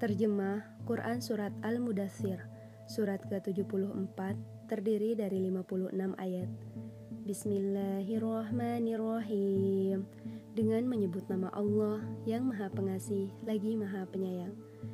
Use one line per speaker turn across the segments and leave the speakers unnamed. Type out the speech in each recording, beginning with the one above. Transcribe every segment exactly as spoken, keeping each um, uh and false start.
Terjemah Quran Surat Al-Mudaththir, surat ke tujuh puluh empat, terdiri dari lima puluh enam ayat. Bismillahirrahmanirrahim. Dengan menyebut nama Allah yang Maha Pengasih lagi Maha Penyayang.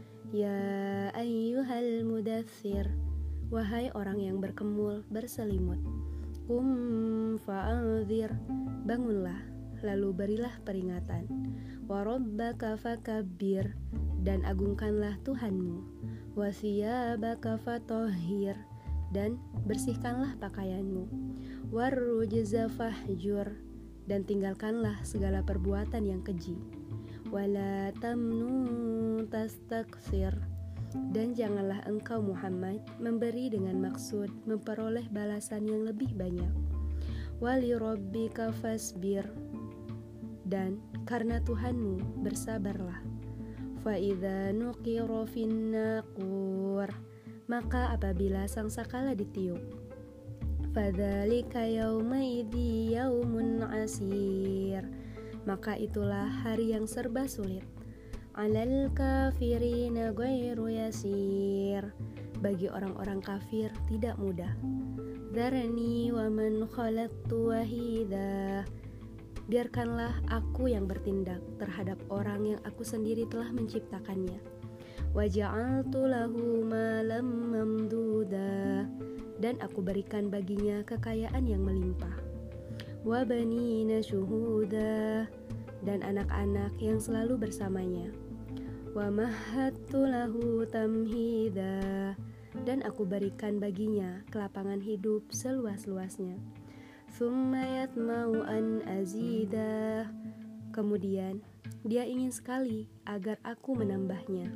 Ya ayyuhal mudaththir, wahai orang yang berkemul, berselimut. Qum fa'anzir, bangunlah, lalu berilah peringatan. Wa rabbaka fakabbir, dan agungkanlah Tuhanmu. Wa thiyabaka fatahhir, dan bersihkanlah pakaianmu. Warrujza fahjur, dan tinggalkanlah segala perbuatan yang keji. Wala tamnun tastakthir, dan janganlah engkau Muhammad memberi dengan maksud memperoleh balasan yang lebih banyak. Wali rabbika fasbir, dan karena Tuhanmu bersabarlah. Fa idza nuqira fin naqur, maka apabila sangsakala ditiup, fadzalika yaumaidzi yaumun asir, maka itulah hari yang serba sulit. Alal kafirina ghairu yasir, bagi orang-orang kafir tidak mudah. Dzarni wa man khalaqtu wahida, biarkanlah aku yang bertindak terhadap orang yang aku sendiri telah menciptakannya. Wa ja'altu lahu malam mamduda, dan aku berikan baginya kekayaan yang melimpah. Wa banina syuhuda, dan anak-anak yang selalu bersamanya. Wa mahattu lahu tamhida, dan aku berikan baginya kelapangan hidup seluas-luasnya. Tsumma yatma'u an azidah, kemudian dia ingin sekali agar aku menambahnya.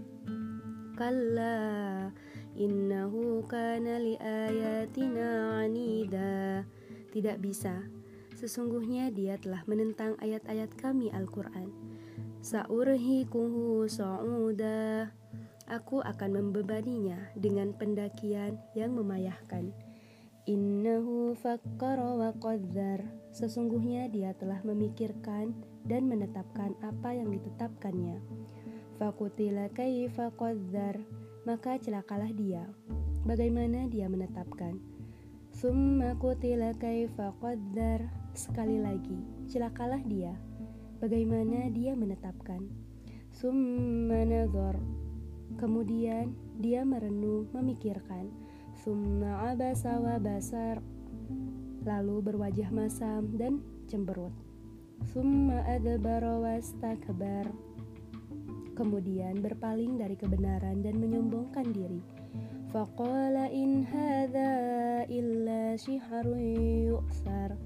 Kalla innahu kana li ayatina anida, tidak bisa, sesungguhnya dia telah menentang ayat-ayat kami Al-Quran. Sa'urhiquhu sa'uda, aku akan membebaninya dengan pendakian yang memayahkan. Innahu fakkara wa qaddar, sesungguhnya dia telah memikirkan dan menetapkan apa yang ditetapkannya. Faqutila kaifa qaddar, maka celakalah dia, bagaimana dia menetapkan. Tsumma qutila kaifa qaddar, sekali lagi celakalah dia, bagaimana dia menetapkan. Tsumma nadhar, kemudian dia merenung memikirkan. Tsumma abasa wa basar, lalu berwajah masam dan cemberut. Tsumma adbara wastakbar, kemudian berpaling dari kebenaran dan menyombongkan diri. Faqala in hadza illa syihrun yu'thar,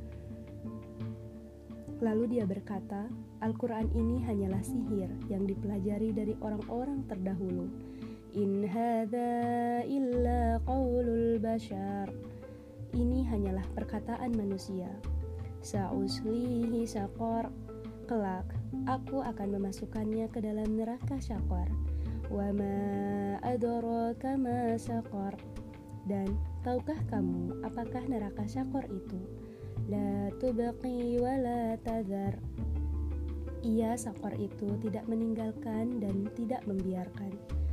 lalu dia berkata, Al-Quran ini hanyalah sihir yang dipelajari dari orang-orang terdahulu. In hadza illa qaulul bashar, ini hanyalah perkataan manusia. Sa'uslihi saqar, kelak aku akan memasukkannya ke dalam neraka syaqar. Wa ma adraka ma saqar, dan tahukah kamu apakah neraka syaqar itu? La tubqi wa la tadhar, ia saqar itu tidak meninggalkan dan tidak membiarkan.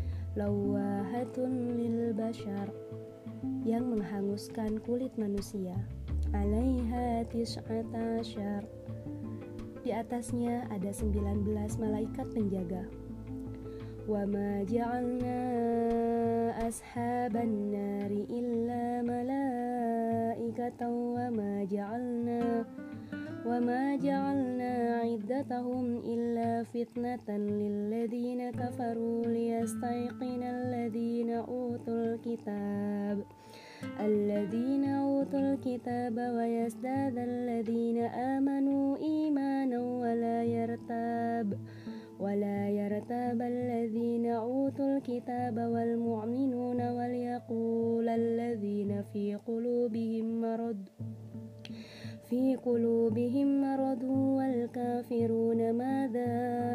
Lawahatun lil bashar, yang menghanguskan kulit manusia. Alaiha tis'ata asyar, di atasnya ada sembilan belas malaikat penjaga. Wa ma ja'alna ashaban nari illa malaikatan wa ma ja'alna wa ma ja'alna 'iddatahum illa fitnatan lilladzina kafaru liyastayqinal ladzina utul kitab alladzina utul kitaba wa yazdadal ladzina amanu imanan wa la yartab wa la yartabal ladzina utul kitaba wal mu'minuna wal yaqulal ladzina fi qulubihim marad fi qulubihim maradu wal kafiruna madza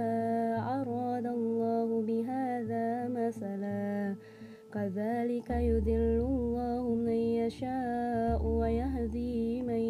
aradallahu bihadza masala kadzalika yudhillullahu man yasha'u wa yahdi man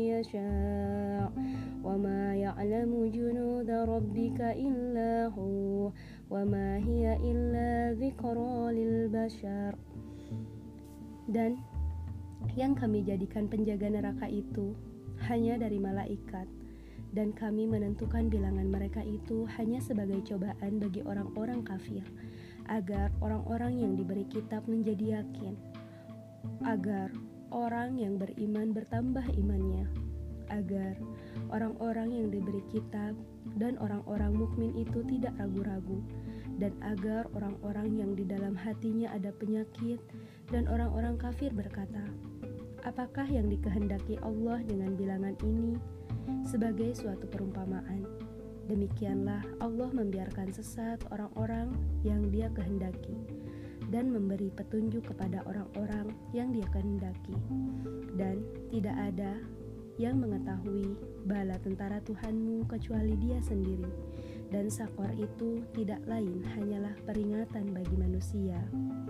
yasha' wa ma ya'lamu junuda rabbika illa hu wa ma hiya illa dzikra lil bashar. Dan yang kami jadikan penjaga neraka itu hanya dari malaikat, dan kami menentukan bilangan mereka itu hanya sebagai cobaan bagi orang-orang kafir, agar orang-orang yang diberi kitab menjadi yakin, agar orang yang beriman bertambah imannya, agar orang-orang yang diberi kitab dan orang-orang mukmin itu tidak ragu-ragu, dan agar orang-orang yang di dalam hatinya ada penyakit dan orang-orang kafir berkata, apakah yang dikehendaki Allah dengan bilangan ini? Sebagai suatu perumpamaan, demikianlah Allah membiarkan sesat orang-orang yang Dia kehendaki dan memberi petunjuk kepada orang-orang yang Dia kehendaki. Dan tidak ada yang mengetahui bala tentara Tuhanmu kecuali Dia sendiri, dan Sakor itu tidak lain hanyalah peringatan bagi manusia.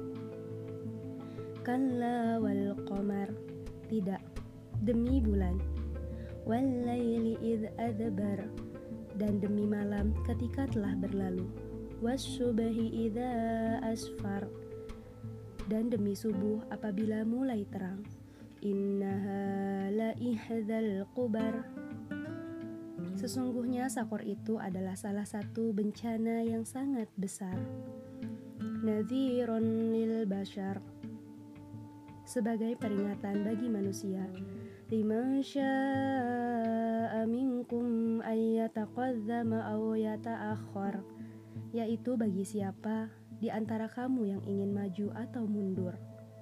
Kalla wal qamar, tidak, demi bulan, wal laili idh adbar, dan demi malam ketika telah berlalu, wasyubhi idza asfar, dan demi subuh apabila mulai terang, innaha la ihdzal qubar, sesungguhnya Sakor itu adalah salah satu bencana yang sangat besar, nadhiron lil bashar, sebagai peringatan bagi manusia, liman syaa minkum ayyataqaddama aw yata'akhkhar, yaitu bagi siapa di antara kamu yang ingin maju atau mundur.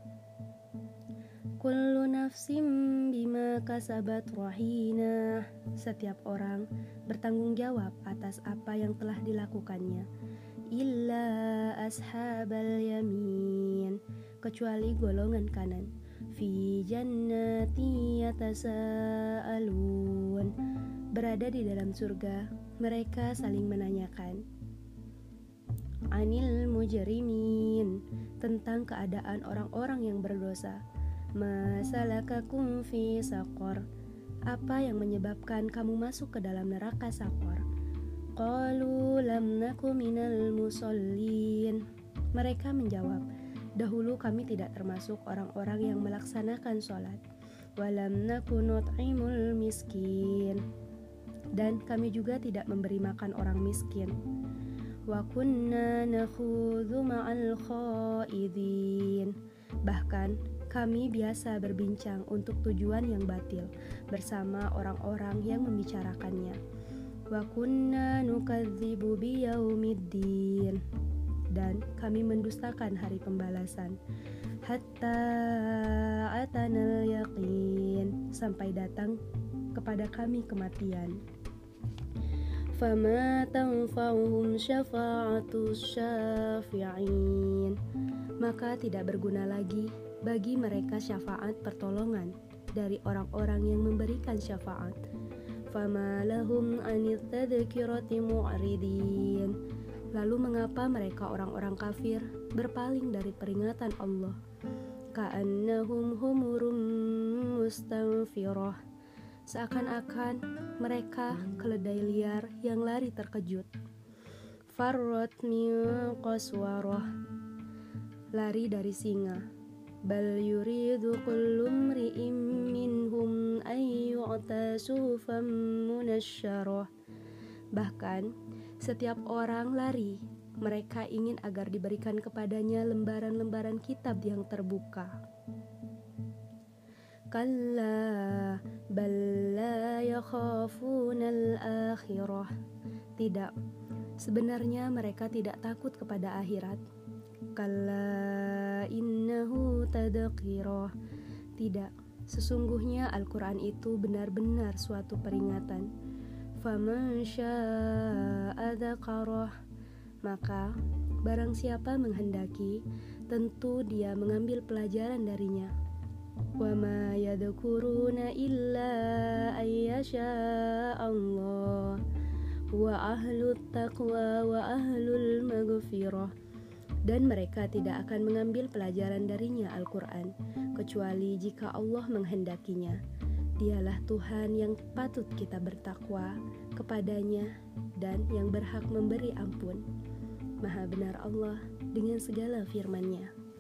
Kullu nafsim bima kasabat rahina, setiap orang bertanggung jawab atas apa yang telah dilakukannya, illa ashabal yamin, kecuali golongan kanan, fi jannati yatasaalun, berada di dalam surga, mereka saling menanyakan, anil mujrimin, tentang keadaan orang-orang yang berdosa, masalakakum fi saqar, apa yang menyebabkan kamu masuk ke dalam neraka Sakor? Qalu lam naku minal musallin, mereka menjawab, dahulu kami tidak termasuk orang-orang yang melaksanakan sholat, walam naku nut'imul miskin, dan kami juga tidak memberi makan orang miskin, wa kunna nakhudhu ma'al khaidin, bahkan kami biasa berbincang untuk tujuan yang batil bersama orang-orang yang membicarakannya, wa kunna nukadzibu biyaumiddin, dan kami mendustakan hari pembalasan, hatta atanal yaqin, sampai datang kepada kami kematian. Fama tanfa'uhum syafa'atus syafi'in, maka tidak berguna lagi bagi mereka syafaat pertolongan dari orang-orang yang memberikan syafaat. Fama lahum anit tadhkirati mu'ridin, lalu mengapa mereka orang-orang kafir berpaling dari peringatan Allah? Ka'annahum humurum mustanfirah, seakan-akan mereka keledai liar yang lari terkejut. Farrat min qaswarah, lari dari singa. Bal yuridu kullu mri'in minhum ay yu'ta suhufan munasyarah, bahkan setiap orang lari, mereka ingin agar diberikan kepadanya lembaran-lembaran kitab yang terbuka. Kalla bal la yakhafunal akhirah, tidak, sebenarnya mereka tidak takut kepada akhirat. Kalla innahu tadhkirah, tidak, sesungguhnya Al-Quran itu benar-benar suatu peringatan. Faman syaa'a dzakarah, maka barang siapa menghendaki, tentu dia mengambil pelajaran darinya. Wa ma yadhkuruna illa ayyasha Allah wa ahlut taqwa wa ahlul maghfirah, dan mereka tidak akan mengambil pelajaran darinya Al-Quran kecuali jika Allah menghendakinya. Dialah Tuhan yang patut kita bertakwa kepadanya dan yang berhak memberi ampun. Maha benar Allah dengan segala firman-Nya.